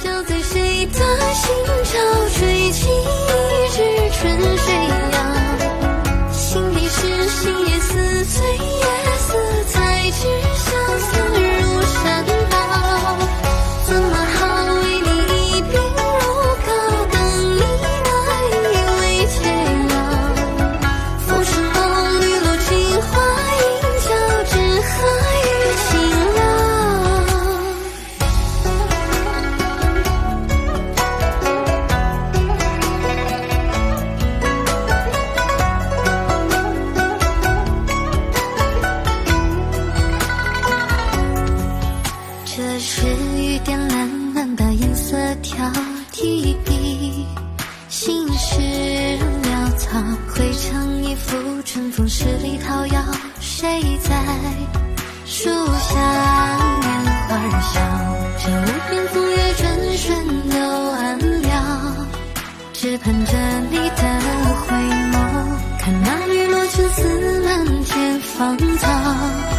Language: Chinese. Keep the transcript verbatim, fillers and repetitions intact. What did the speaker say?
脚在谁的心潮，吹起一支春水扬。心底是心也似，醉也似，才知相思如山倒。怎么好为你一鬓如膏，等你那一位偕老。浮生梦绿楼青花映交，只合于情了。这是雨点蓝漫的银色条，提笔心事潦草，绘成一幅春风十里桃夭。谁在树下拈花儿笑？这无边风月转瞬又暗了，只盼着你的回眸，看那雨落青丝满天芳草。